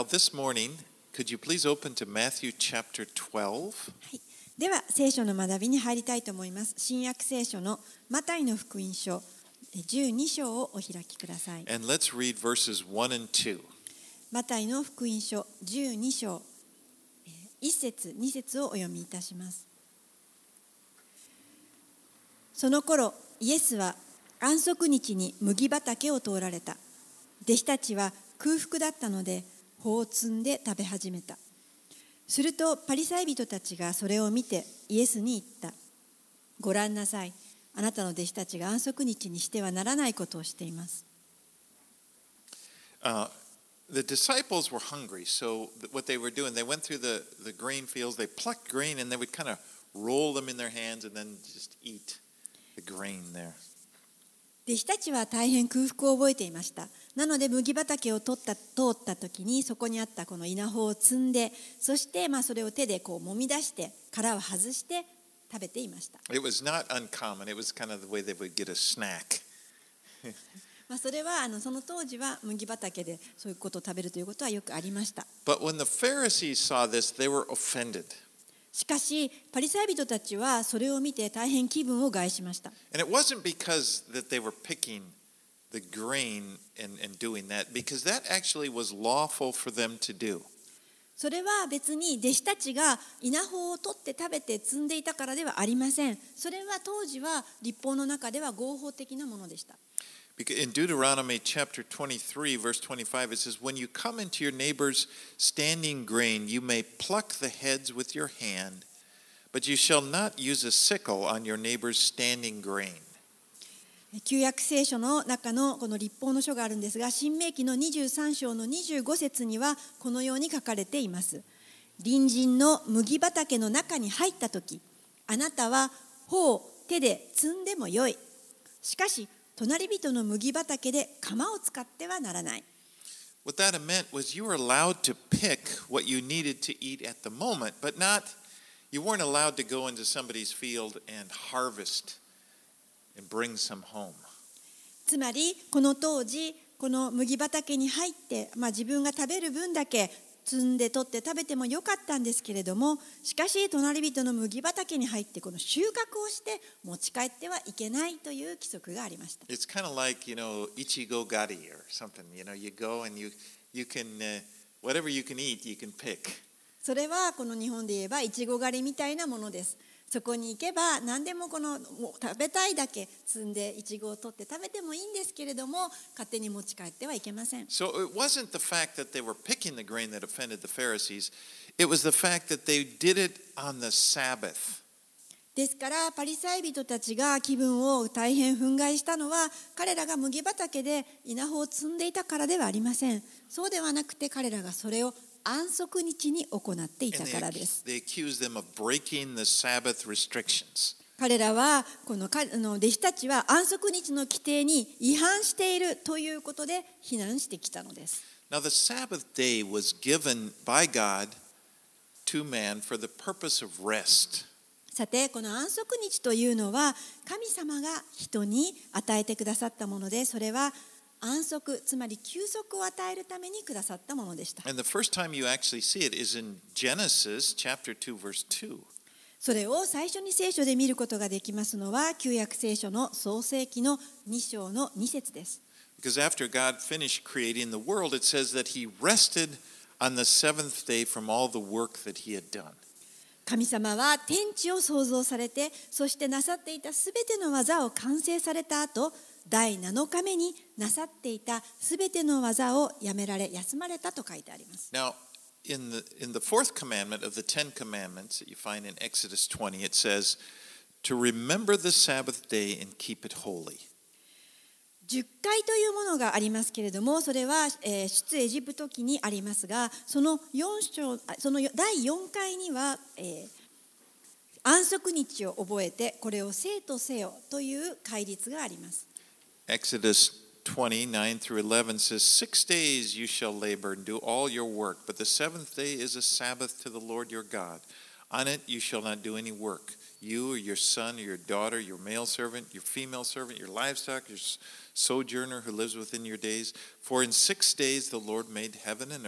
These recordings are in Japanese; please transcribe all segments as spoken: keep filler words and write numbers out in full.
this morning, could you please open to Matthew chapter twelve? はい、では聖書の学びに入りたいと思います。新約聖書のマタイの福音書じゅうに章をお開きください。 And let's read verses one and two. マタイの福音書じゅうに章いち節に節をお読みいたします。その頃イエスは安息日に麦畑を通られた。弟子たちは空腹だったので穂を摘んで食べ始めた。するとパリサイ人たちがそれを見てイエスに言った。ご覧なさい。あなたの弟子たちが安息日にしてはならないことをしています。 Uh, the disciples were hungry, so what they were doing, they went through the, the grain fields, they plucked grain, and they would kind of roll them in their hands and then just eat the grain there. 弟子たちは大変空腹を覚えていました。なので麦畑を取った通った時にそこにあったこの稲穂を摘んで、そしてまあそれを手でこう揉み出して殻を外して食べていました。 It was not uncommon. It was kind of the way they would get a snack. まあそれはあのその当時は麦畑でそういうことを食べるということはよくありました。 But when the Pharisees saw this, they were offended. しかしパリサイ人たちはそれを見て大変気分を害しました。 And it wasn't because that they were picking the grain and, and doing that, because that actually was lawful for them to do. それは別に弟子たちが稲穂を取って食べて摘んでいたからではありません。それは当時は律法の中では合法的なものでした。 In Deuteronomy chapter twenty-three, verse twenty-five, it says, When you come into your neighbor's standing grain, you may pluck the heads with your hand, but you shall not use a sickle on your neighbor's standing grain. 旧約聖書の中のこの律法の書があるんですが、新明記のにじゅうさん章のにじゅうご節にはこのように書かれています。隣人の麦畑の中に入ったとき、あなたは穂を手で摘んでもよい。しかし、隣人の麦畑で鎌を使ってはならない。 What that meant was you were allowed to pick what you needed to eat at the moment, but not, you weren't allowed to go into somebody's field and harvest and bring some home. つまりこの当時この麦畑に入って、まあ、自分が食べる分だけ摘んで取って食べてもよかったんですけれども、しかし隣人の麦畑に入ってこの収穫をして持ち帰ってはいけないという規則がありました。 It's kind of like, you know, ichigo gari or something. You know, you go and you you can uh, whatever you can eat, you can pick. それはこの日本で言えばいちご狩りみたいなものです。そこに行けば何でもこのもう食べたいだけ摘んでいちごを取って食べてもいいんですけれども、勝手に持ち帰ってはいけません。 So it wasn't the fact that they were picking the grain that offended the Pharisees. It was the fact that they did it on the Sabbath. ですからパリサイ人たちが気分を大変憤慨したのは、彼らが麦畑で稲穂を摘んでいたからではありません。そうではなくて彼らがそれを安息日に行っていたからです。 They accused them of breaking the Sabbath restrictions. 彼らはこの弟子たちは安息日の規定に違反しているということで非難してきたのです。 Now the Sabbath day was given by God to man for the purpose of rest. さてこの安息日というのは神様が人に与えてくださったもので、それは安息、つまり休息を与えるためにくださったものでした。 And the first time you actually see it is in Genesis chapter two verse two. それを最初に聖書で見ることができますのは旧約聖書の創世記のに章のに節です。 Because after God finished creating the world, it says that he rested on the seventh day from all the work that he had done. 神様は天地を創造されて、そしてなさっていたすべての技を完成された後、だいなのかめになさっていたすべての技をやめられ休まれたと書いてあります。 Now, in the in the fourth commandment of the Ten Commandments that you find in Exodus twenty, it says to remember the Sabbath day and keep it holy. じゅっかいというものがありますけれども、それは、えー、出エジプト記にありますが、そのよん章、そのだいよんかいには、えー、安息日を覚えてこれを聖とせよという戒律があります。 Exodus twenty, nine through eleven says, Six days you shall labor and do all your work, but the seventh day is a Sabbath to the Lord your God. On it you shall not do any work. You or your son or your daughter, your male servant, your female servant, your livestock, your sojourner who lives within your days. For in six days the Lord made heaven and earth,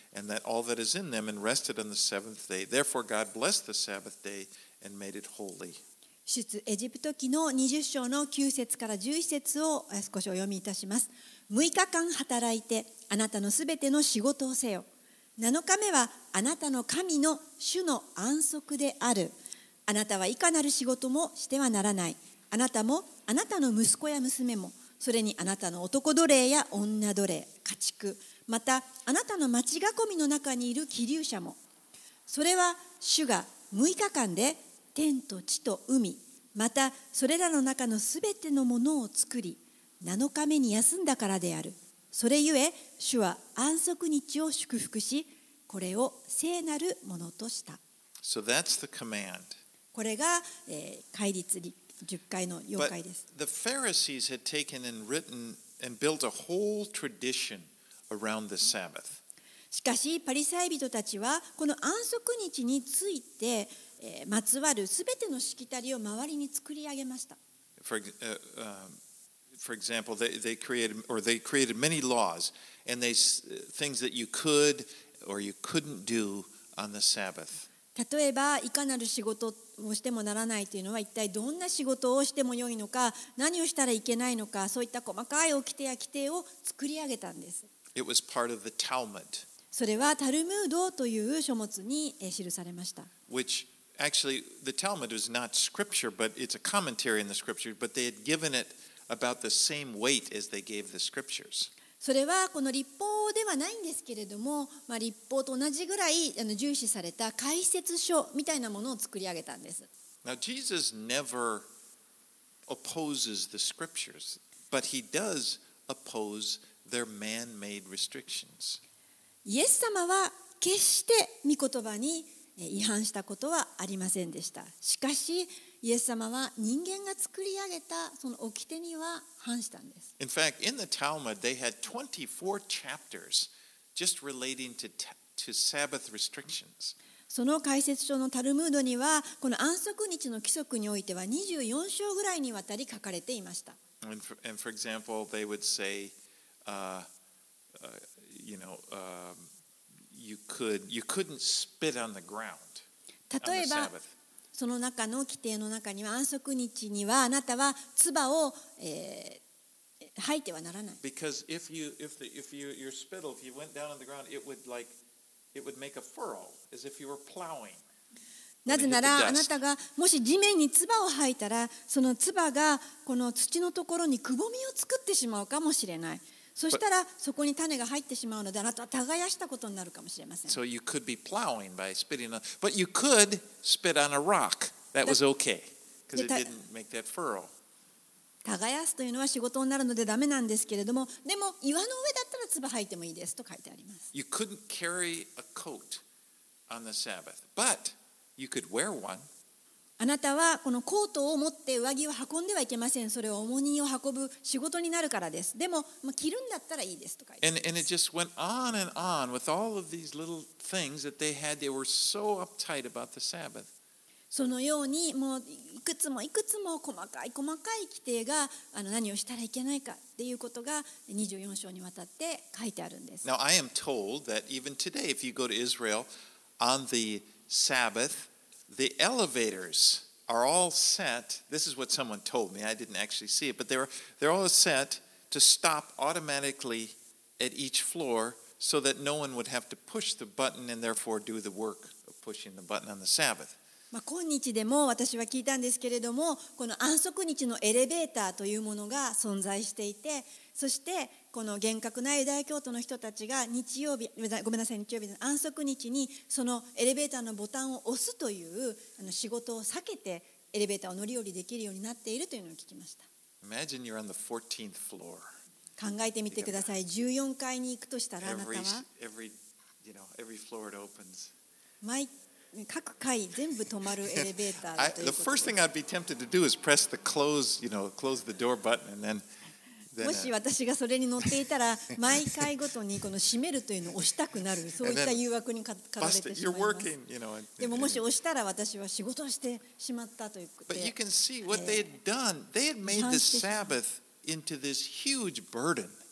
and that all that is in them, and rested on the seventh day. Therefore God blessed the Sabbath day and made it holy. 出エジプト記のにじゅっ章のきゅう節からじゅういち節を少しお読みいたします。むいかかん働いてあなたのすべての仕事をせよ。なのかめはあなたの神の主の安息である。あなたはいかなる仕事もしてはならない。あなたもあなたの息子や娘も、それにあなたの男奴隷や女奴隷、家畜、またあなたの町囲みの中にいる寄留者も。それは主がむいかかんで天と地と海、またそれらの中のすべてのものを作り、なのかめに休んだからである。それゆえ主は安息日を祝福し、これを聖なるものとした。 So that's the command. これが、えー、戒律じゅっかいの要戒です。 But the Pharisees had taken and written and built a whole tradition around the Sabbath. しかしパリサイ人たちはこの安息日について、えー、まつわるすべてのしきたりを周りに作り上げました。 For, uh, um, for example, they, they created or they created many laws and they things that you could or you couldn't do on the Sabbath. 例えばいかなる仕事をしてもならないというのは一体どんな仕事をしてもよいのか、何をしたらいけないのか、そういった細かい掟や規定を作り上げたんです。 It was part of the Talmud. それはタルムードという書物に記されました。 Which actually the Talmud was not scripture, but it's a commentary in the scripture, but they had given it about the same weight as they gave the scriptures. それはこの律法ではないんですけれども、まあ、律法と同じぐらいあの重視された解説書みたいなものを作り上げたんです。 Now Jesus never opposes the scriptures, but he does oppose their man-made restrictions. イエス様は決して御言葉に違反したことはありませんでした。しかしイエス様は人間が作り上げたその掟には反したんです。 In fact, in the Talmud, they had twenty-four chapters just relating to, to Sabbath restrictions. その解説書のタルムードにはこの安息日の規則においてはにじゅうよん章ぐらいにわたり書かれていました。 And for, and for example, they would say, uh, uh, you know, um, you could you couldn't spit on the ground on the 例えば Sabbath. その中の規定の中には安息日にはあなたは唾を、えー、吐いてはならない。 Because if you if the if you your spittle if you went down on the ground, it would like it would make a furrow as if you were plowing. なぜならあなたがもし地面に唾を吐いたらその唾がこの土のところにくぼみを作ってしまうかもしれない。そしたらそこに種が入ってしまうのであなたは耕したことになるかもしれません。 So you could be plowing by spitting on, but you could spit on a rock. That was okay because it didn't make that furrow. 耕すというのは仕事になるのでダメなんですけれども、でも岩の上だったら唾吐いてもいいですと書いてあります。 You couldn't carry a coat on the Sabbath, but you could wear one. あなたはこのコートを持って上着を運んではいけません。それは重荷を運ぶ仕事になるからです。でも、まあ、着るんだったらいいですと書いてあります。 And, and it just went on and on with all of these little things that they had. They were so uptight about the Sabbath. そのようにもういくつもいくつも細かい細かい規定があの何をしたらいけないかっていうことがにじゅうよん章にわたって書いてあるんです。 Now I am told that even today, if you go to Israel on the Sabbath, the elevators are all set. This is what someone told me. I didn't actually see it, but they were they're all set to stop automatically at each floor so that no one would have to push the button and therefore do the work of pushing the button on the Sabbath. まあ、今日でも私は聞いたんですけれども、この安息日のエレベーターというものが存在していて、そしてこの厳格なユダヤ教徒の人たちが日曜日、ごめんなさい、日曜日の安息日にそのエレベーターのボタンを押すというあの仕事を避けてエレベーターを乗り降りできるようになっているというのを聞きました。 Imagine you're on the fourteenth floor. 考えてみてください。じゅうよんかいに行くとしたらあなたは every, you know, every floor it opens. 毎各階全部止まるエレベーターだ I, という the こと first で thing I'd be tempted to do is press the close, you know, close the door button, and then. then もし私がそれに乗っていたら毎回ごとにこの閉めるというのを押したくなる、そういった誘惑に駆られてしまいます。 you know, and, でももし押したら私は仕事をしてしまったということ But で you can see what they had done. They had made the Sabbath into this huge burden.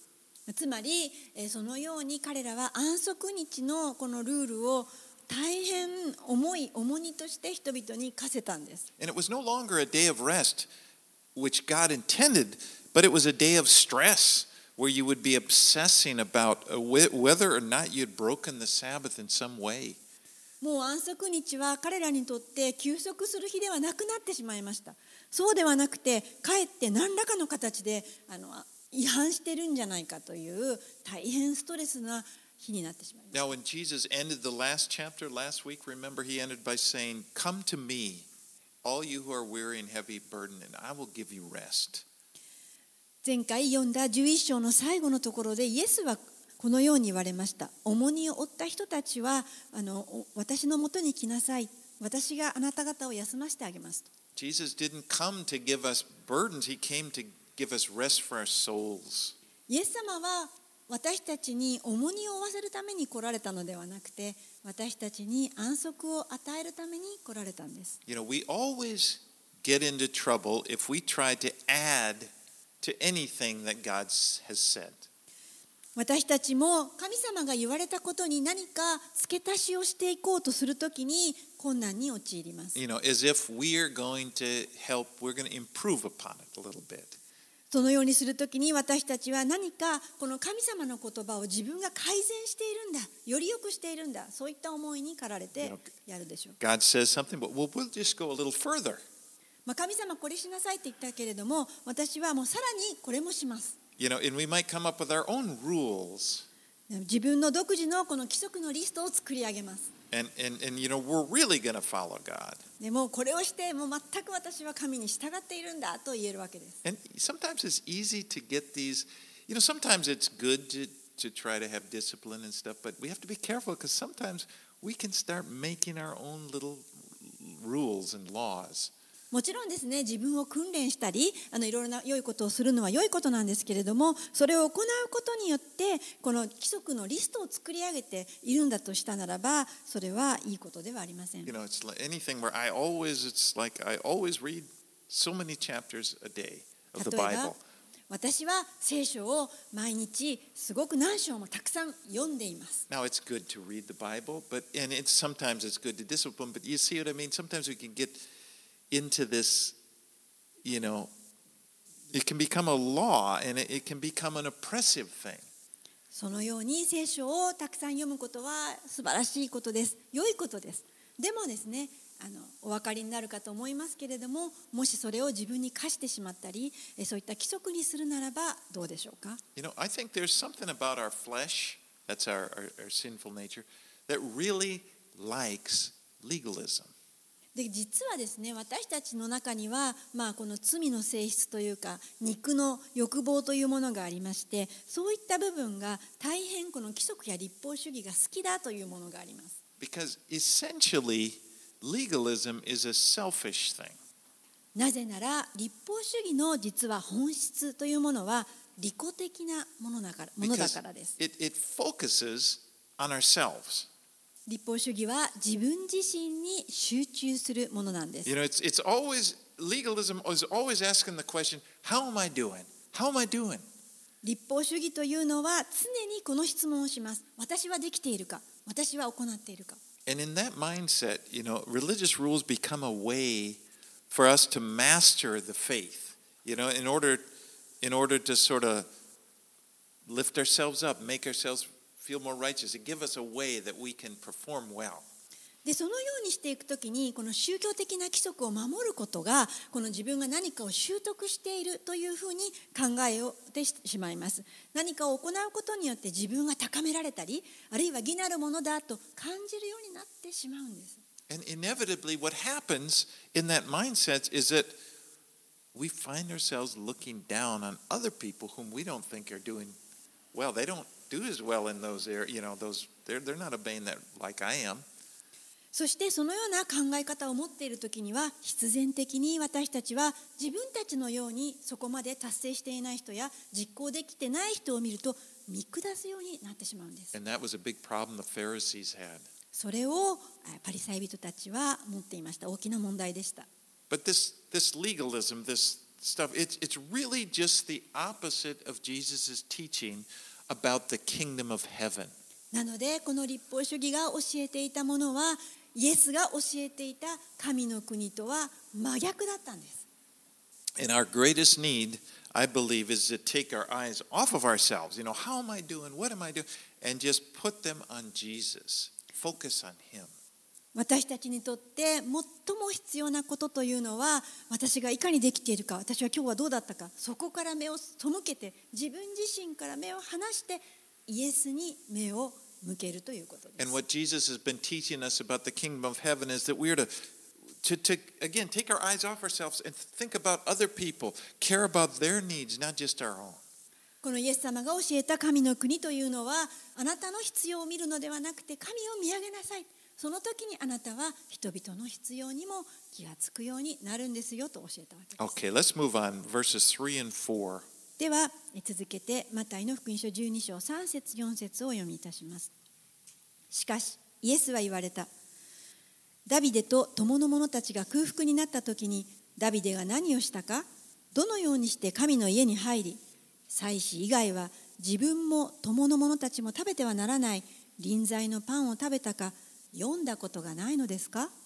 つまりえーそのように彼らは安息日のこのルールを大変重い重荷として人々に課せたんです。 And it was no longer a day of rest, which God intended, but it was a day of stress where you would be obsessing about uh, wh- whether or not you'd broken the Sabbath in some way. もう安息日は彼らにとって休息する日ではなくなってしまいました。そうではなくて、かえって何らかの形であの違反してるんじゃないかという大変ストレスな日になってしまいました。 Now, when Jesus ended the last chapter last week, remember he ended by saying, "Come to me, all you who are weary and heavy burdened, and I will give you rest." 前回読んだじゅういっ章の最後のところでイエスはこのように言われました。重荷を負った人たちはあの私のもとに来なさい。私があなた方を休ませてあげますと。 Jesus didn't come to give us burdens, he came to give us rest for our souls. イエス様は私たちに重荷を負わせるために来られたのではなくて、私たちに安息を与えるために来られたんです。 You know, we always get into trouble if we try to add to anything that God has said. 私たちも神様が言われたことに何か付け足しをしていこうとするときに困難に陥ります。 You know, as if we're going to help, we're going to improve upon it a little bit. そのようにするときに私たちは何かこの神様の言葉を自分が改善しているんだ、より良くしているんだ、そういった思いに駆られてやるでしょう。 God says something, but we'll, we'll just go a little further. まあ、神様これしなさいって言ったけれども、私はもうさらにこれもします。 You know, and we might come up with our own rules. 自分の独自のこの規則のリストを作り上げます。 And, and, and you know, we're really going to follow God. でもこれをしてもう全く私は神に従っているんだと言えるわけです。 And sometimes it's easy to get these, you know, sometimes it's good to, to try to have discipline and stuff, but we have to be careful because sometimes we can start making our own little rules and laws. もちろんですね、自分を訓練したりあのいろいろな良いことをするのは良いことなんですけれども、それを行うことによってこの規則のリストを作り上げているんだとしたならば、それはいいことではありません。 You know, it's like anything where I always, it's like I always read so many chapters a day of the 例えば Bible. 私は聖書を毎日すごく何章もたくさん読んでいます。 Now it's good to read the Bible, but and it's sometimes it's good to discipline, but you see what I mean? Sometimes we can get into this, you know, it can become a law and it, it can become an oppressive thing. そのように聖書をたくさん読むことは素晴らしいことです。良いことです。でもですね、あのお分かりになるかと思いますけれども、もしそれを自分に課してしまったり、そういった規則にするならばどうでしょうか。 You know, I think there's something about our flesh, that's our, our, our sinful nature, that really likes legalism. で実はですね、私たちの中には、まあ、この罪の性質というか肉の欲望というものがありまして、そういった部分が大変この規則や立法主義が好きだというものがあります。 Because essentially, legalism is a selfish thing. なぜなら立法主義の実は本質というものは利己的なものだから、ものだ Because からです。 it, it focuses on ourselves. 立法主義は自分自身に集中するものなんです。 You know, it's, it's always, legalism is always asking the question, how am I doing? How am I doing? 立法主義というのは常にこの質問をします。私はできているか、私は行っているか。 And in that mindset, you know, religious rules become a way for us to master the faith, you know, in order, in order to sort of lift ourselves up, make ourselves feel more righteous, and give us a way that we can perform well. でそのようにしていくときにこの宗教的な規則を守ることがこの自分が何かを習得しているというふうに考えをてしまいます。何かを行うことによって自分が高められたり、あるいは義なるものだと感じるようになってしまうんです。 And inevitably, what happens in that mindset is that we find ourselves looking down on other people whom we don't think are doing well. They don't do as well in those areas, you know, those they're they're not obeying that like I am. そしてそのような考え方を持っているときには必然的に私たちは自分たちのようにそこまで達成していない人や実行できてない人を見ると見下すようになってしまうんです。 And that was a big problem the Pharisees had. それをパリサイ人たちは持っていました。大きな問題でした。 But this this legalism, this stuff, it's it's really just the opposite of Jesus' teaching about the kingdom of heaven. なのでこの立法主義が教えていたものはイエスが教えていた神の国とは真逆だったんです。 And our greatest need, I believe, is to take our eyes off of ourselves. You know, how am I doing? What am I doing? And just put them on Jesus. Focus on Him. 私たちにとって最も必要なことというのは、私がいかにできているか、私は今日はどうだったか、そこから目を背けて、自分自身から目を離してイエスに目を向けるということです。 And what Jesus has been teaching us about the kingdom of heaven is that we are to, to, to again, take our eyes off ourselves and think about other people, care about their needs, not just our own. このイエス様が教えた神の国というのは、あなたの必要を見るのではなくて神を見上げなさい。その時にあなたは人々の必要にも気がつくようになるんですよと教えたわけです。 Okay, let's move on. Verses three and four. では続けてマタイの福音書じゅうに章さん節よん節をお読みいたします。しかしイエスは言われた。ダビデと友の者たちが空腹になった時にダビデが何をしたか、どのようにして神の家に入り、祭司以外は自分も友の者たちも食べてはならない臨在のパンを食べたか読んだことがないのですか。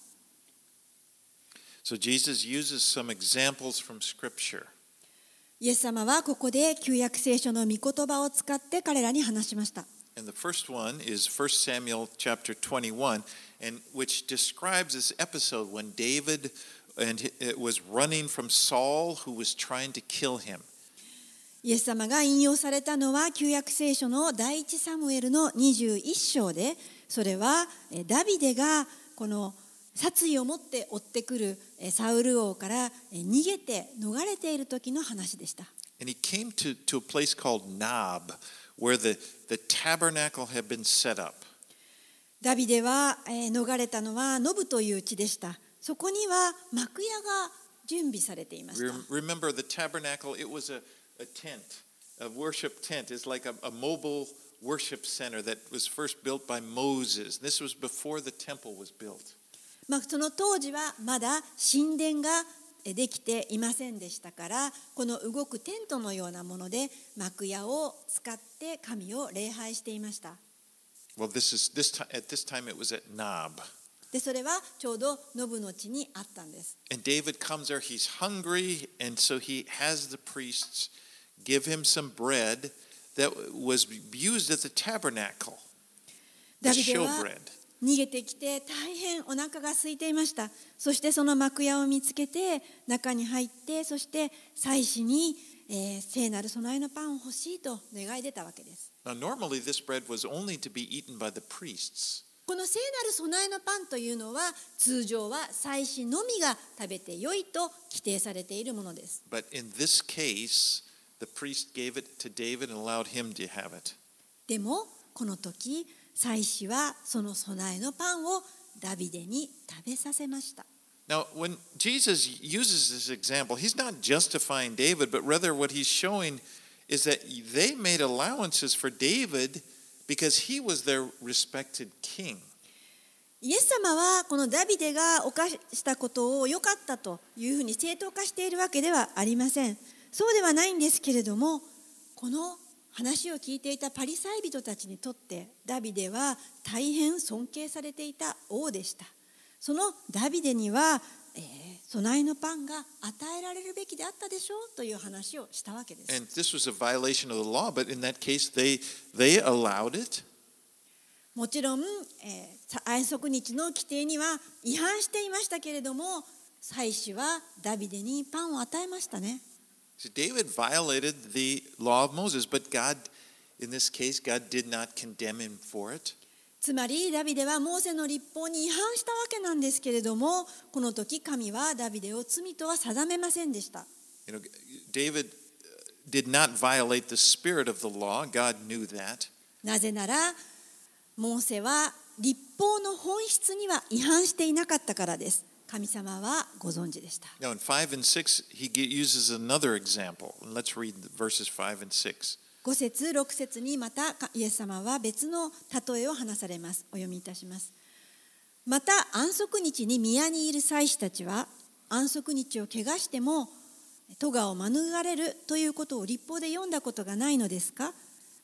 So Jesus uses some examples from Scripture. イエス様はここで旧約聖書の御言葉を使って彼らに話しました。 And the first one is First Samuel chapter twenty-one, and which describes this episode when David and it was running from Saul, who was trying to kill him. イエス様が引用されたのは旧約聖書の第一サムエルのにじゅういち章で、それはダビデがこの殺意を持って追ってくるサウル王から逃げて逃れている時の話でした。 And he came to, to a place called Nob, where the, the tabernacle had been set up. ダビデは逃れたのはノブという地でした。そこには幕屋が準備されていました。 Remember the tabernacle, it was a, a tent, a worship tent. It's like a, a mobile worship center that was first built by Moses. This was before the temple was built. まあ、その当時はまだ神殿ができていませんでしたから、この動くテントのようなもので幕屋を使って神を礼拝していました。 Well, this is this time at this time it was at Nob. でそれはちょうどノブの地にあったんです。 And David comes there, he's hungry, and so he has the priests give him some bread that was used at the tabernacle. ダ The ビデは showbread. 逃げてきて大変お腹が空いていました。そしてその幕屋を見つけて中に入って、そして祭司に、えー、聖なる備えのパンを欲しいと願い出たわけです。 Now, normally this bread was only to be eaten by the priests. この聖なる備えのパンというのは通常は祭司のみが食べてよいと規定されているものです。 But in this case, the priest gave it to David and allowed him to have it. でもこの時祭司はその備えのパンをダビデに食べさせました。 Now, when Jesus uses this example, he's not justifying David, but rather what he's showing is that they made allowances for David because he was their respected king. イエス様はこのダビデが犯したことを良かったというふうに正当化しているわけではありません。そうではないんですけれども、この話を聞いていたパリサイ人たちにとってダビデは大変尊敬されていた王でした。そのダビデには、えー、備えのパンが与えられるべきであったでしょうという話をしたわけです。 And this was a violation of the law, but in that case they, they allowed it. もちろん、えー、安息日の規定には違反していましたけれども、祭司はダビデにパンを与えましたね。 So David violated the law of Moses, but God, in this case, God did not condemn him for it. つまりダビデはモーセの律法に違反したわけなんですけれども、この時神はダビデを罪とは定めませんでした。 You know, David did not violate the spirit of the law. God knew that. なぜならモーセは律法の本質には違反していなかったからです。神様はご存知でした。 Now in five and six, he uses another example. Let's read verses five and six. ご節ろく節にまたイエス様は別の例えを話されます。お読みいたします。また安息日に宮にいる祭司たちは安息日を汚しても咎を免れるということを律法で読んだことがないのですか。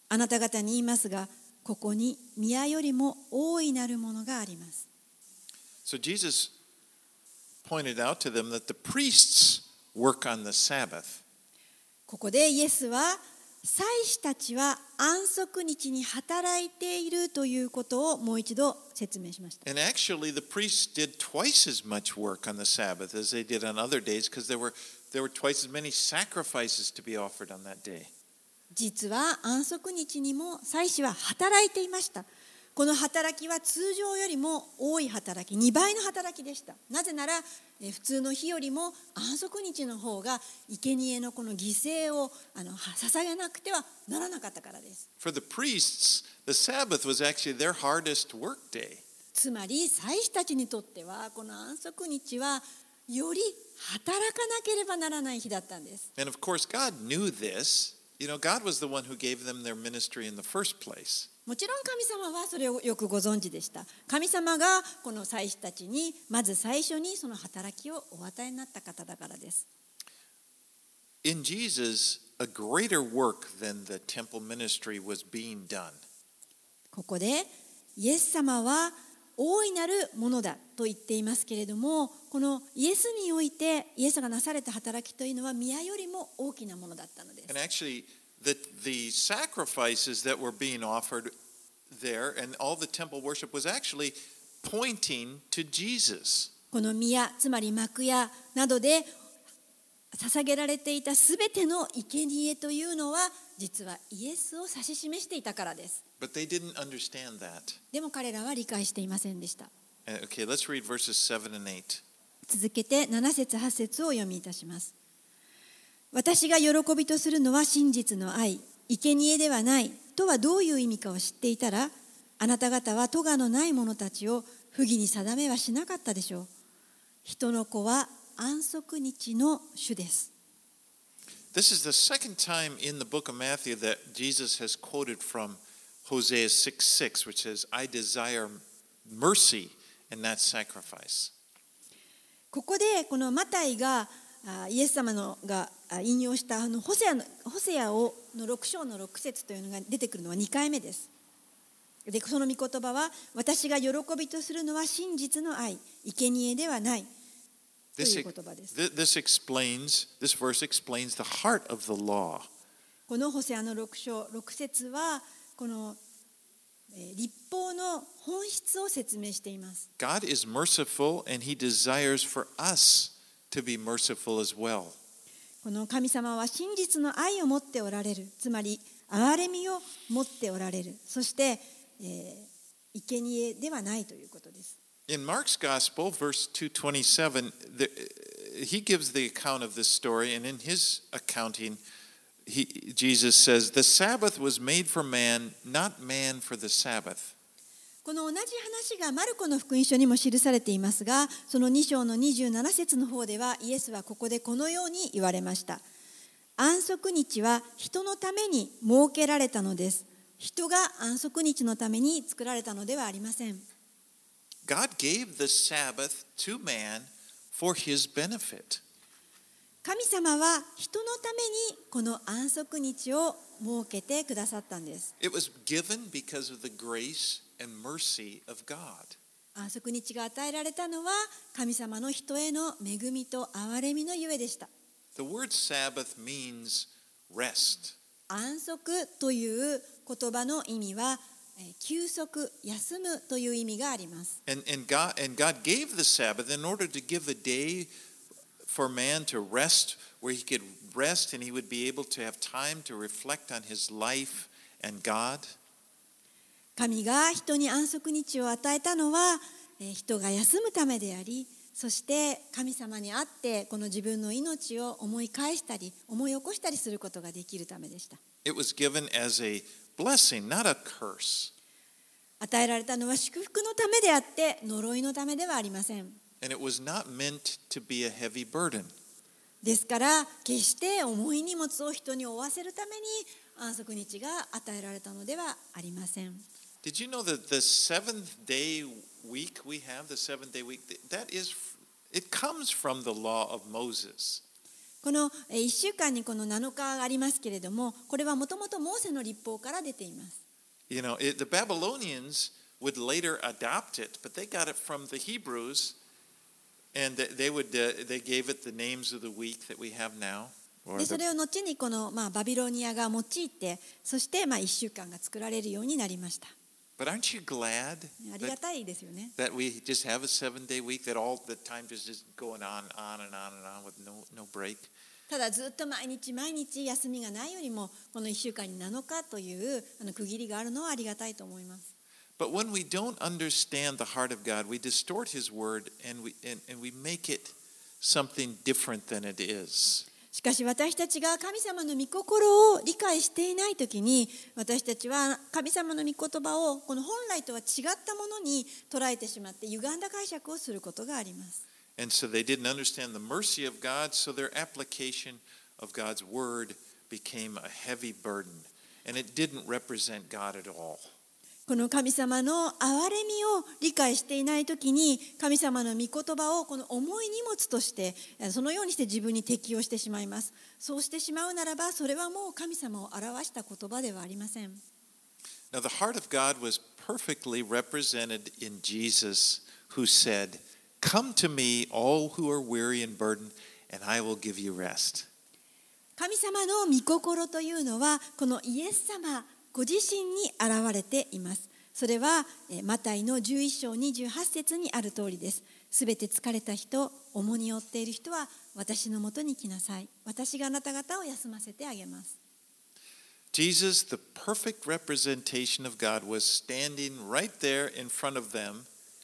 あなた方に言いますが、ここに宮よりも大いなるものがあります。 So Jesus pointed out to them that the priests work on the Sabbath. ここでイエスは、祭司たちは安息日に働いているということをもう一度説明しました。 And actually, the priests did twice as much work on the Sabbath as they did on other days because there were, there were twice as many sacrifices to be offered on that day. 実は安息日にも祭司は働いていました。この働きは通常よりも多い働き、にばいの働きでした。なぜならえ普通の日よりも安息日の方が生贄のこの犠牲をあの捧げなくてはならなかったからです。 For the priests, the Sabbath was actually their hardest work day. つまり祭司たちにとってはこの安息日はより働かなければならない日だったんです。 And of course, God knew this. You know, God was the one who gave them their ministry in the first place. もちろん神様はそれをよくご存知でした。神様がこの祭司たちにまず最初にその働きをお与えになった方だからです。 In Jesus, a greater work than the temple ministry was being done. ここでイエス様は大いなるものだと言っていますけれども、このイエスにおいてイエスがなされた働きというのは宮よりも大きなものだったのです。 And actually, the, the sacrifices that were being offered there and all the temple worship was actually pointing to Jesus. この宮、つまり幕屋などで捧げられていたすべての生贄というのは実はイエスを指し示していたからです。 But they didn't understand that. でも彼らは理解していませんでした。 Okay, let's read verses seven and eight. 続けてなな節はち節をお読みいたします。私が喜びとするのは真実の愛、生贄ではないとはどういう意味かを知っていたら、あなた方は咎のない者たちを不義に定めはしなかったでしょう。人の子は安息日の主です。 This is the second time in the book of Matthew that Jesus has quoted from Hosea six six, which says, I desire mercy and not sacrifice. ここでこのマタイがイエス様のが引用したあのホセアのホセアをのろく章のろく節というのが出てくるのはにかいめです。で、その御言葉は、私が喜びとするのは真実の愛、生贄ではないという言葉です。 This explains, this verse explains the heart of the law. このホセアのろく章ろく節はこの律法の本質を説明しています。 God is merciful and he desires for us to be merciful as well. この神様は真実の愛を持っておられる。つまり憐れみを持っておられる。そして、えー、生贄ではないということです。 In Mark's Gospel, verse two twenty-seven, the, he gives the account of this story, and in his accounting, he, Jesus says, the Sabbath was made for man, not man for the Sabbath. この同じ話がマルコの福音書にも記されていますが、そのに章のにじゅうなな節の方ではイエスはここでこのように言われました。安息日は人のために設けられたのです。人が安息日のために作られたのではありません。 God gave the Sabbath to man for his benefit. 神様は人のためにこの安息日を設けてくださったんです。 It was given because of the grace and mercy of God. 安息日が与えられたのは神様の人への恵みと憐れみのゆえでした。 The word Sabbath means rest. 安息という言葉の意味は休息、休むという意味があります。 And, and, God, and God gave the Sabbath in order to give a day for man to rest, where he could rest and he would be able to have time to reflect on his life and God. 神が人に安息日を与えたのは人が休むためであり、そして神様にあってこの自分の命を思い返したり思い起こしたりすることができるためでした。 It was given as a blessing, not a curse. 与えられたのは祝福のためであって呪いのためではありません。 And it was not meant to be a heavy burden. ですから決して重い荷物を人に負わせるために安息日が与えられたのではありません。 Did you know that the seventh day week we have, the seventh day week, that is, it comes from the law of Moses. ここのいっしゅうかんにこのなのかがありますけれども、これはもともとモーセの律法から出ています。 You know, it, the Babylonians would later adopt it, but they got it from the Hebrews, and they, they would uh, they gave it the names of the week that we have now. でそれを後にこの、まあ、バビロニアが用いて、そしてまあいっしゅうかんが作られるようになりました。 But aren't you glad ありがたいですよね。 that, that we just have a seven-day week, that all the time just is going on, on and on and on with no no break? ただずっと毎日毎日休みがないよりも、このいっしゅうかんになのかというあの区切りがあるのはありがたいと思います。 But when we don't understand the heart of God, we distort His word and we and, and we make it something different than it is. しかし私たちが神様の御心を理解していないときに、私たちは神様の御言葉をこの本来とは違ったものに捉えてしまって、歪んだ解釈をすることがあります。 And so they didn't understand the mercy of God, so their application of God's word became a heavy burden, and it didn't represent God at all. この神様の憐れみを理解していないときに、神様の御言葉をこの重い荷物として、そのようにして自分に適用してしまいます。そうしてしまうならば、それはもう神様を表した言葉ではありません。 Now the heart of God was perfectly represented in Jesus, who said, "Come to me, all who are weary and burdened, and I will give you rest." 神様の御心というのは、このイエス様ご自身に現れています。それはマタイのじゅういっ章にじゅうはち節にある通りです。すべて疲れた人、重荷を負っている人は私のもとに来なさい。私があなた方を休ませてあげます。 Jesus, the perfect representation of God, was standing right there in front of them,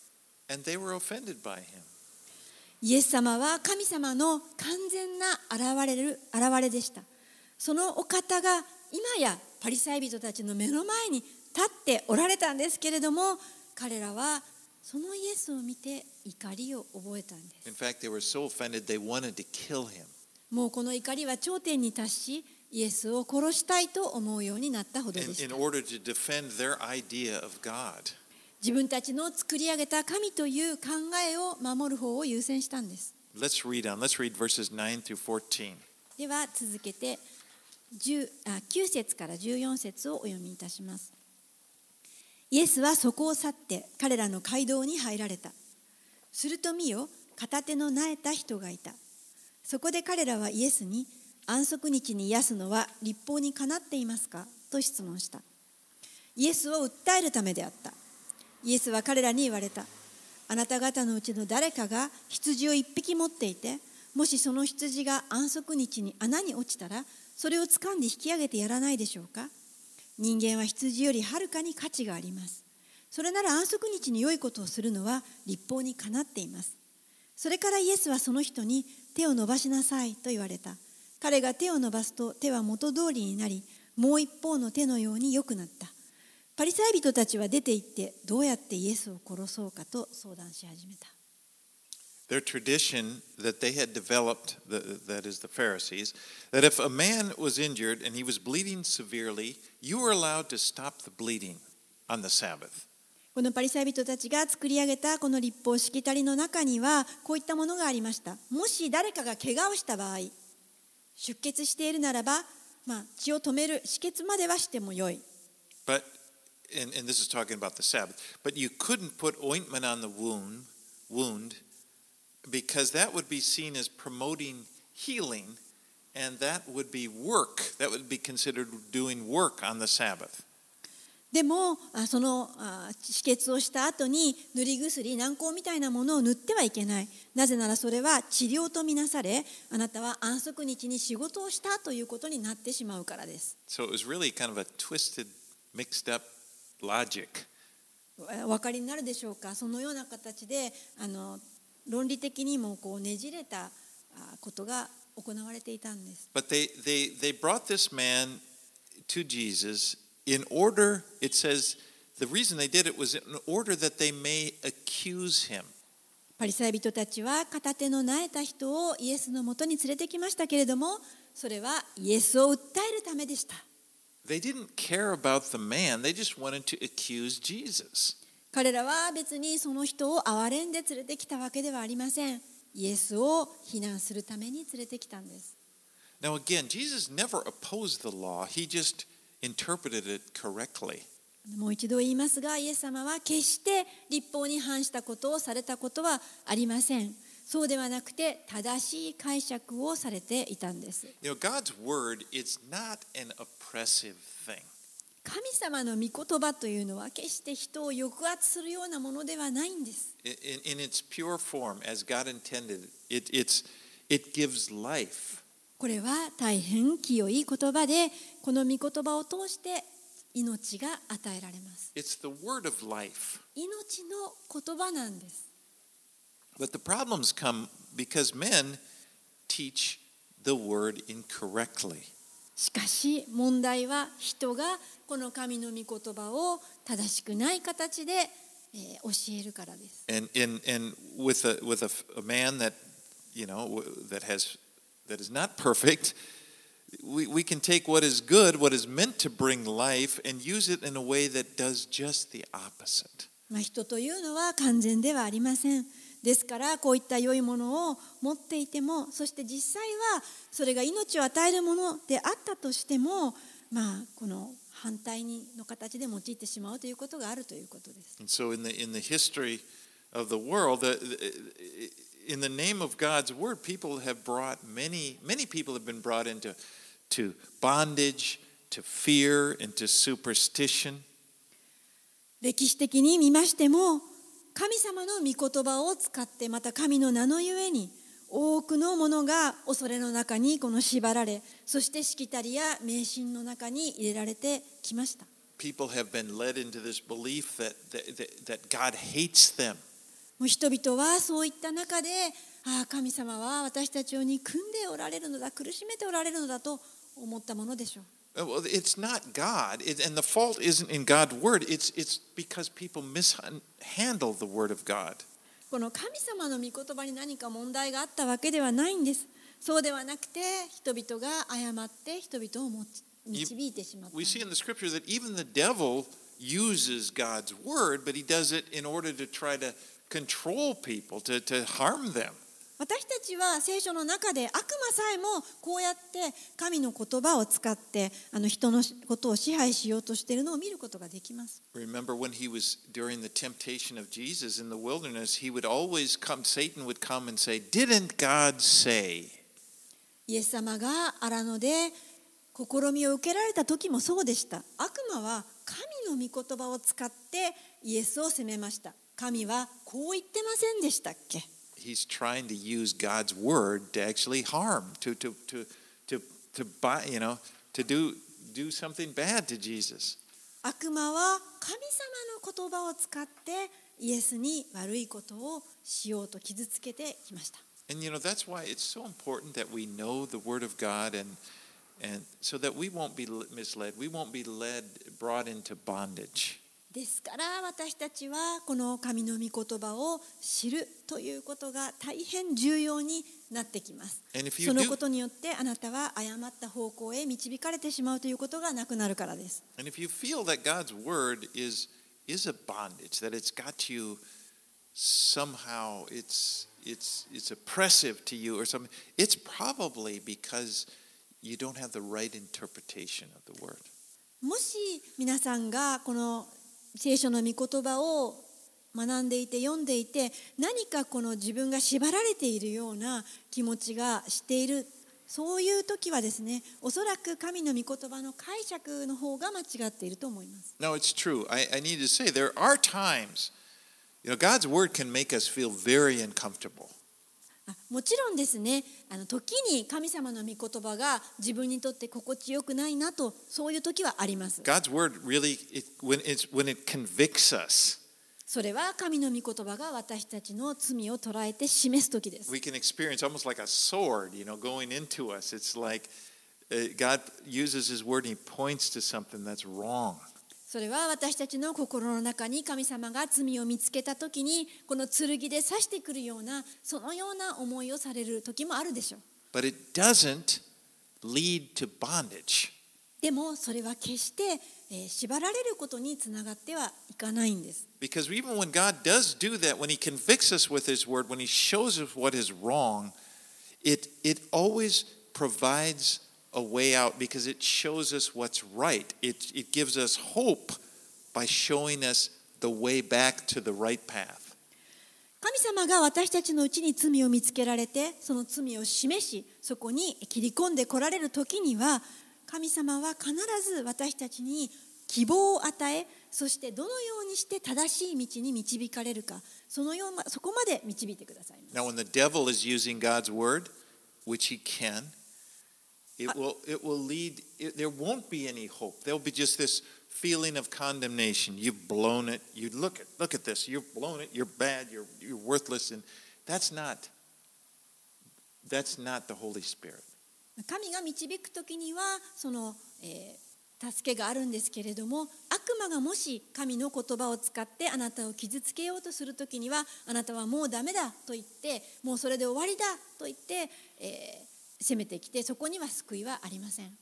and they were offended by him. イエス様は神様の完全な現れる現れでした。そのお方が今やパリサイ人たちの目の前に立っておられたんですけれども、彼らはそのイエスを見て怒りを覚えたんです。 In fact, they were so offended they wanted to kill him. もうこの怒りは頂点に達し、イエスを殺したいと思うようになったほどで In, し in た。 order to defend their idea of God. 自分たちの作り上げた神という考えを守る方を優先したんです。 Let's read on. Let's read verses nine through fourteen. では続けてじゅうあきゅう節からじゅうよん節をお読みいたします。イエスはそこを去って彼らの街道に入られた。すると見よ、片手のなえた人がいた。そこで彼らはイエスに、安息日に癒すのは律法にかなっていますかと質問した。イエスを訴えるためであった。イエスは彼らに言われた。あなた方のうちの誰かが羊を一匹持っていて、もしその羊が安息日に穴に落ちたら、それを掴んで引き上げてやらないでしょうか。人間は羊よりはるかに価値があります。それなら安息日に良いことをするのは律法にかなっています。それからイエスはその人に、手を伸ばしなさいと言われた。彼が手を伸ばすと手は元通りになり、もう一方の手のように良くなった。パリサイ人たちは出て行って、どうやってイエスを殺そうかと相談し始めた。 Their tradition that they had developed, the, that is the Pharisees, that if a man was injured and he was bleeding severely, you were allowed to stop the bleeding on the Sabbath. このパリサイ人たちが作り上げたこの律法しきたりの中にはこういったものがありました。もし誰かが怪我をした場合、出血しているならば、まあ、血を止める止血まではしてもよい。 But, and, and this is talking about the Sabbath, but you couldn't put ointment on the wound, wound because that would be seen as promoting healing, and that would be work. That would be considered doing work on the Sabbath. でもその止血をした後に塗り薬、軟膏みたいなものを塗ってはいけない。なぜならそれは治療とみなされ、あなたは安息日に仕事をしたということになってしまうからです。 So it was really kind of a twisted, mixed up logic. お分かりになるでしょうか。そのような形であの論理的にもこうねじれたことが行われていたんです。 But they, they, they brought this man to Jesus in order, it says, the reason they did it was in order that they may accuse him. パリサイ人たちは片手のなえた人をイエスのもとに連れてきましたけれども、それはイエスを訴えるためでした。 They didn't care about the man, they just wanted to accuse Jesus. 彼らは別にその人を憐れんで連れてきたわけではありません。イエスを非難するために連れてきたんです。 Now again, Jesus never opposed the law. He just interpreted it correctly. もう一度言いますが、イエス様は決して律法に反したことをされたことはありません。そうではなくて正しい解釈をされていたんです。 You know, God's word is not an oppressive thing. 神様の御言葉というのは決して人を抑圧するようなものではないんです。 In, in its pure form, as God intended, it, it's, it gives life. これは大変清い言葉で、この御言葉を通して命が与えられます。 It's the word of life. 命の言葉なんです。 But the problems come because men teach the word incorrectly. しかし問題は人がこの神の御言葉を正しくない形で、えー、教えるからです。 And, and, and with, a, with a, a man that, you know, that has that is not perfect, we, we can take what is good, what is meant to bring life, and use it in a way that does just the opposite. まあ人というのは完全ではありません。ですからこういった良いものを持っていても、そして実際はそれが命を与えるものであったとしても、まあこの反対にの形で用いてしまうということがあるということです。 And so in the in the history of the world, the, the, in the name of God's word, people have brought many many people have been brought into to bondage, to fear, into superstition. 歴史的に見ましても、神様の御言葉を使って、また神の名のゆえに多くのものが恐れの中にこの縛られ、そしてしきたりや迷信の中に入れられてきました。 People have been led into this belief that that, that God hates them. もう人々はそういった中で、ああ神様は私たちを憎んでおられるのだ、苦しめておられるのだと思ったものでしょう。 Well, it's not God, it, and the fault isn't in God's word. It's it's because people mishandle the word of God. この神様の御言葉に何か問題があったわけではないんです。そうではなくて、人々が誤って人々を導いてしまった。 We see in the scripture that even the devil uses God's word, but he does it in order to try to control people, to, to harm them. 私たちは聖書の中で悪魔さえもこうやって神の言葉を使ってあの人のことを支配しようとしているのを見ることができます。 Remember when he was during the temptation of Jesus in the wilderness, he would always come, Satan would come and say, "Didn't God say?" イエス様が荒野で試みを受けられた時もそうでした。悪魔は神の御言葉を使ってイエスを責めました。神はこう言ってませんでしたっけ ？He's trying to use God's word to actually harm, to to to to to buy, you know, to do do something bad to Jesus. 悪魔は神様の言葉を使ってイエスに悪いことをしようと傷つけてきました。 And you know that's why it's so important that we know the word of God and and so that we won't be misled, we won't be led brought into bondage. ですから私たちはこの神の御言葉を知るということが大変重要になってきます。そのことによってあなたは誤った方向へ導かれてしまうということがなくなるからです。 And if you feel that God's word is is a bondage, that it's got you somehow, it's it's it's oppressive to you or something, it's probably because you don't have the right interpretation of the word. もし皆さんがこの聖書の御言葉を学んでいて読んでいて何かこの自分が縛られているような気持ちがしている、そういう時はですね、おそらく神の御言葉の解釈の方が間違っていると思います。 No, it's true. I, I need to say there are times, you know, God's word can make us feel very uncomfortable. もちろんですね、あの時に神様の御言葉が自分にとって心地よくないなと、そういう時はあります。 God's word really, it, when, it's, when it convicts us, それは神の御言葉が私たちの罪を捉えて示す時です。 we can experience almost like a sword, you know, going into us. It's like uh, God uses His word and He points to something that's wrong. それは私たちの心の中に神様が罪を見つけたときにこの剣で刺してくるようなそのような思いをされる時もあるでしょう。 But it doesn't lead to bondage. でもそれは決して、えー、縛られることにつながってはいかないんです。 Because even when God does do that, when He convicts us with His word, when He shows us what is wrong, it, it always provides a way out because it shows us what's right. It, it gives us hope by showing us the way back to the right path. 神様が私たちのうちに罪を見つけられて、その罪を示し、そこに切り込んで来られる時には、神様は必ず私たちに希望を与え、そしてどのようにして正しい道に導かれるか、そのようなそこまで導いてくださいます。 Now, when the devil is using God's word, which he can, it will it will lead. It, there won't be any hope. There'll be just this feeling of condemnation. You've blown it. You look at look at this. You've blown it. You're bad. You're you're worthless. And that's not. That's not the Holy Spirit. 神が導くときにはその、えー、助けがあるんですけれども、悪魔がもし神の言葉を使ってあなたを傷つけようとするときには、あなたはもうダメだと言って、もうそれで終わりだと言って、えー、攻めてきて、そこには救いはありません。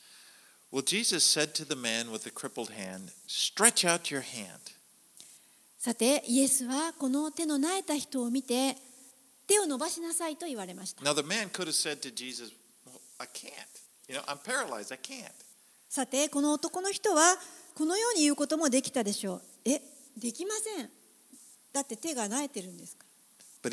Well, Jesus said to the man with the crippled hand, "Stretch out your hand." さて、イエスはこの手のなえた人を見て、手を伸ばしなさいと言われました。 Now the man could have said to Jesus, "Well, I can't. You know, I'm paralyzed. I can't." さて、この男の人はこのように言うこともできたでしょう。え、できません。だって手がなえてるんですから。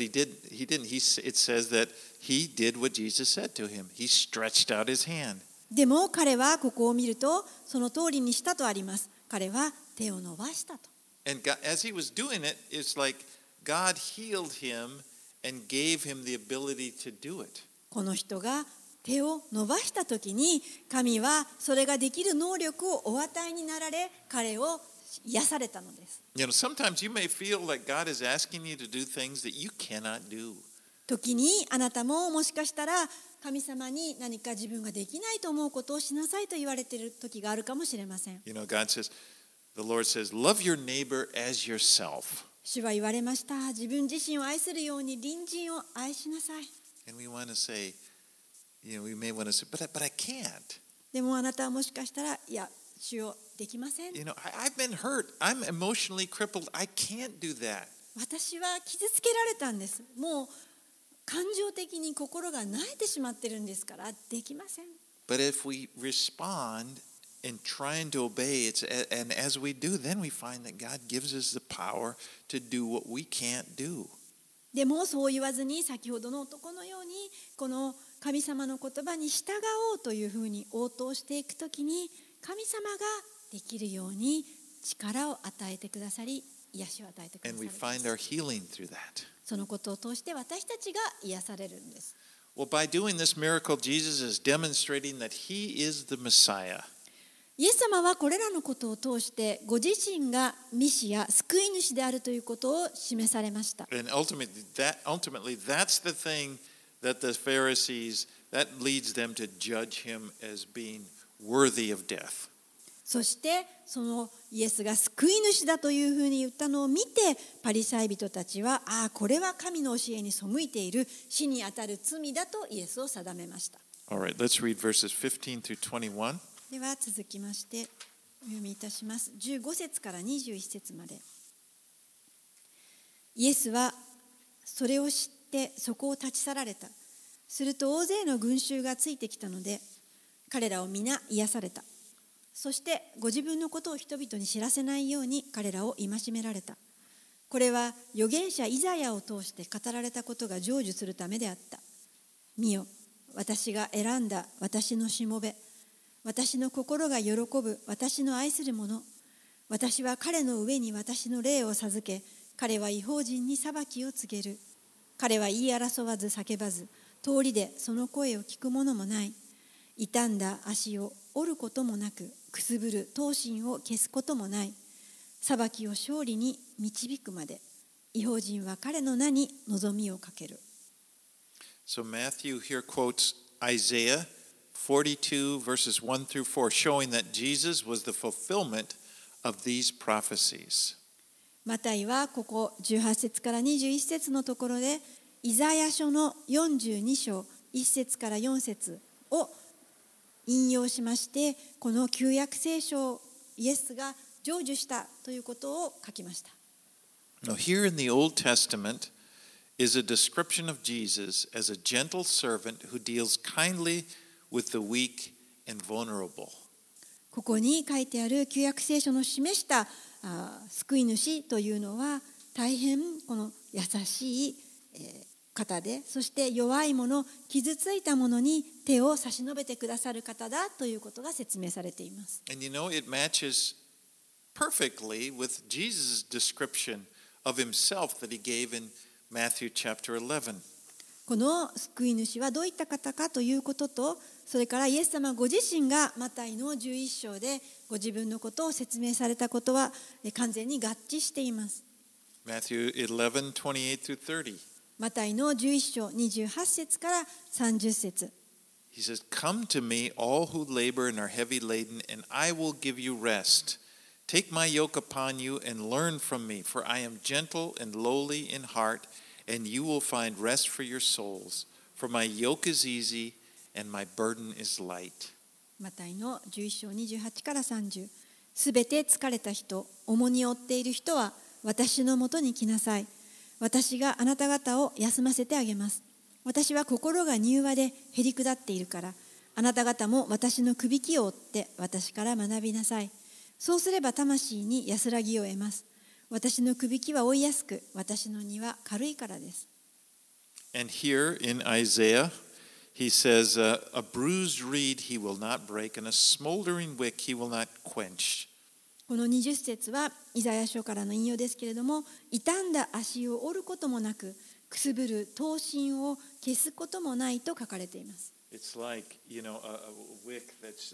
But he did. He didn't. He. It says that he did what Jesus said to him. He stretched out his hand. でも彼はここを見るとその通りにしたとあります。彼は手を伸ばしたと。 And God, as he was doing it, it's like God healed him and gave him the ability to do it. この人が手を伸ばしたときに、神はそれができる能力をお与えになられ、彼を癒されたのです。 You know, sometimes you may feel like God is asking you to do things that you cannot do. 時にあなたももしかしたら神様に何か自分ができないと思うことをしなさいと言われている時があるかもしれません。 You know, God says, the Lord says, love your neighbor as yourself. 主は言われました。自分自身を愛するように隣人を愛しなさい。 And we want to say, you know, we may want to say, but I, but I can't. でもあなたはもしかしたら、いや、主よ、できません。 You know, I, I've been hurt. I'm emotionally crippled. I can't do that. 私は傷つけられたんです。もう感情的に心が萎えてしまってるんですからできません。 But if we respond in trying to obey, it's, and as we do, then we find that God gives us the power to do what we can't do. でもそう言わずに、先ほどの男のようにこの神様の言葉に従おうというふうに応答していくときに、神様ができるように力を与えてくださり、癒しを与えてくださ And る we find our healing through that. そのことを通して私たちが癒されるんです。 Well, by doing this miracle, Jesus is demonstrating that he is the Messiah. イエス様はこれらのことを通してご自身がミシア、救い主であるということを示されました。 And ultimately, that, ultimately, that's the thing that the Pharisees, that leads them to judge him as being worthy of death. そしてそのイエスが救い主だというふうに言ったのを見て、パリサイ人たちは、ああ、これは神の教えに背いている、死にあたる罪だとイエスを定めました。 All right, let's read verses fifteen through twenty-one. では続きましてお読みいたします。じゅうご節からにじゅういち節まで。イエスはそれを知ってそこを立ち去られた。すると大勢の群衆がついてきたので、彼らを皆癒された。そしてご自分のことを人々に知らせないように彼らを戒められた。これは預言者イザヤを通して語られたことが成就するためであった。見よ、私が選んだ私のしもべ、私の心が喜ぶ私の愛する者。私は彼の上に私の霊を授け、彼は異邦人に裁きを告げる。彼は言い争わず叫ばず、通りでその声を聞く者もない。傷んだ足を折ることもなく、くすぶる闘心を消すこともない。裁きを勝利に導くまで、異邦人は彼の名に望みをかける。 So Matthew here quotes Isaiah forty-two verses one through four, showing that Jesus was the fulfillment of these prophecies. マタイはここじゅうはち節からにじゅういち節のところで、イザヤ書のよんじゅうに章いち節からよん節を引用しまして、この旧約聖書をイエスが成就したということを書きました。 Now, here in the Old Testament, is a description of Jesus as a gentle servant who deals kindly with the weak and vulnerable. ここに書いてある旧約聖書の示したあ救い主というのは大変この優しい、えー、方で、そして弱い者、傷ついた者に手を差し伸べてくださる方だということが説明されています。 And you know, it matches perfectly with Jesus' description of himself that he gave in Matthew chapter eleven. この救い主はどういった方かということと、それからイエス様ご自身がマタイのじゅういっ章でご自分のことを説明されたことは完全に合致しています。 Matthew eleven, twenty-eight through thirty. マタイのじゅういっ章にじゅうはち節からさんじゅう節。 He says, "Come to me, all who labor and are heavy laden, and I will give you rest. Take my yoke upon you and learn from me, for I am gentle and lowly in heart, and you will find rest for your souls. For my yoke is easy and my burden is light." マタイのじゅういっ章にじゅうはちからさんじゅう。すべて疲れた人、重荷を負っている人は私のもとに来なさい。私があなた方を休ませてあげます。私は心が柔和でへり下っているから、あなた方も私のくびきを追って私から学びなさい。そうすれば魂に安らぎを得ます。私のくびきは追いやすく、私の荷は軽いからです。 And here in Isaiah, he says, uh, "A bruised reed he will not break, and a smoldering wick he will not quench." このにじゅう節はイザヤ書からの引用ですけれども、傷んだ足を折ることもなく、くすぶる刀身を消すこともないと書かれています。 It's like, you know, a, a wick that's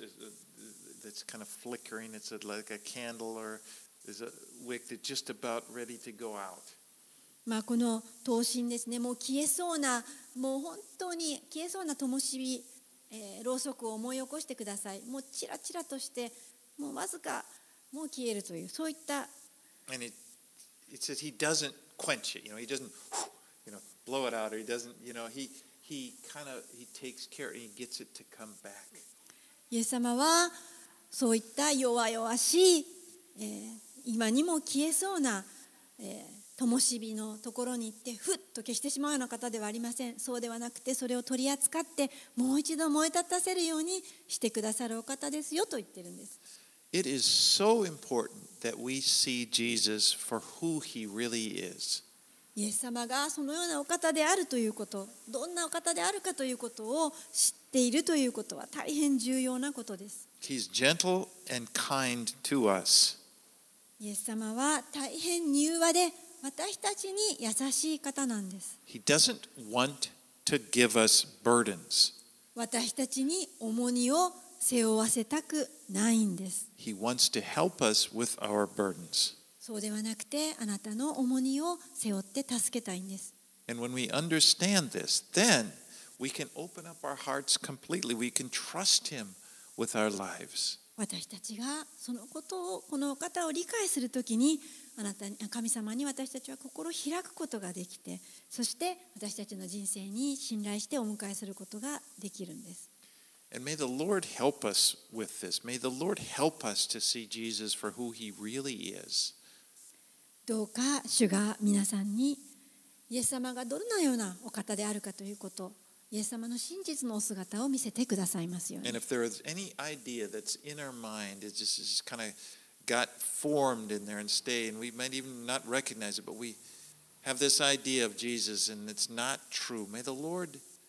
that's kind of flickering. It's a, like a candle, or is a wick that's just about ready to go out. まあこの刀身ですね、もう消えそうな、もう本当に消えそうな灯火、えー、ろうそくを思い起こしてください。もうチラチラとして、もうわずかもう消えるという、そういった。 And it it says he doesn't quench it. You know, he doesn't, you know, blow it out, or he doesn't, you know, he he kind of he takes care and he gets it to come back. イエス様はそういった弱々しい、えー、今にも消えそうな、えー、灯火のところに行ってふっと消してしまうような方ではありません。そうではなくて、それを取り扱ってもう一度燃え立たせるようにしてくださるお方ですよと言ってるんです。 It is so important that we see Jesus for who he really is. イエス様がそのようなお方であるということ、どんなお方であるかということを知っているということは大変重要なことです。 He's gentle and kind to us. イエス様は大変柔和で私たちに優しい方なんです。 He doesn't want to give us burdens. 私たちに重荷を背負わせたくないんです。 He wants to help us with our burdens. そうではなくて、あなたの重荷を背負って助けたいんです。 And when we understand this, then we can open up our hearts completely. We can trust him with our lives. 私たちがそのことを、この方を理解するときに、あなたに、神様に私たちは心を開くことができて、そして私たちの人生に信頼してお迎えすることができるんです。 And may the Lord help us with this. May the Lord help us to see Jesus for who he really is. どうか主が皆さんにイエス様がどのようなお方であるかということ、イエス様の真実のお姿を見せてくださいますように。 And if there is any idea that's in our mind, it just, it just kind of got formed in there and stay, and we might even not recognize it, but we have this idea of Jesus and it's not true. May the Lord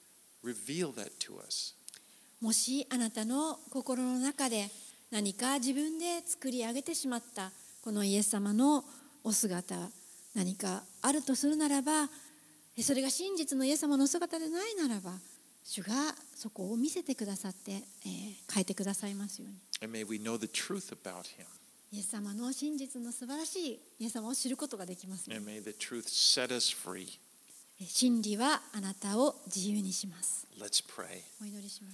reveal that to us. もしあなたの心の中で何か自分で作り上げてしまったこのイエス様のお姿、何かあるとするならば、それが真実のイエス様のお姿でないならば、主がそこを見せてくださって、えー、変えてくださいますように。 And may we know the truth about him. イエス様の真実の素晴らしいイエス様を知ることができますよう And に。 may the truth set us free. 真理はあなたを自由にします。 Let's pray. お祈りします。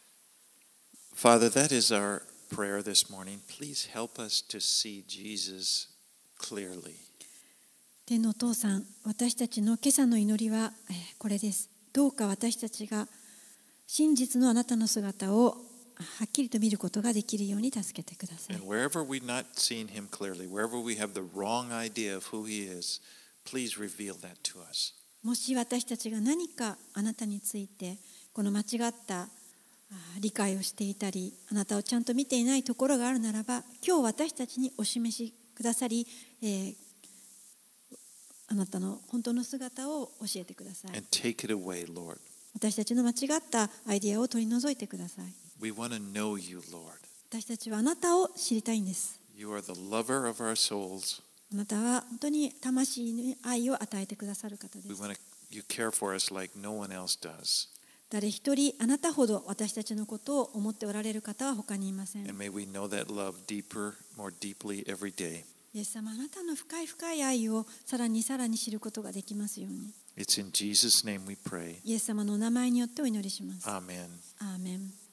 Father, that is our prayer this morning. Please help us to see Jesus clearly. 天のお父さん、私たちの今朝の祈りはこれです。どうか私たちが真実のあなたの姿をはっきりと見ることができるように助けてください。 And wherever we've not seen him clearly, wherever we have the wrong idea of who he is, please reveal that to us. もし私たちが何かあなたについてこの間違った理解をしていたり、あなたをちゃんと見ていないところがあるならば、今日私たちにお示しくださり、えー、あなたの本当の姿を教えてください。 And take it away, Lord. 私たちの間違ったアイディアを取り除いてください。 We want to know you, Lord. 私たちはあなたを知りたいんです。 You are the lover of our souls. あなたは本当に魂に愛を与えてくださる方で We す。 want to, you care for us like no one else does. 誰一人あなたほど私たちのことを思っておられる方は他にいません。 And may we know that love deeper, more deeply every day. イエス様、あなたの深い深い愛をさらにさらに知ることができますように。 It's in Jesus' name we pray. イエス様のお名前によってお祈りします。 Amen. アーメン。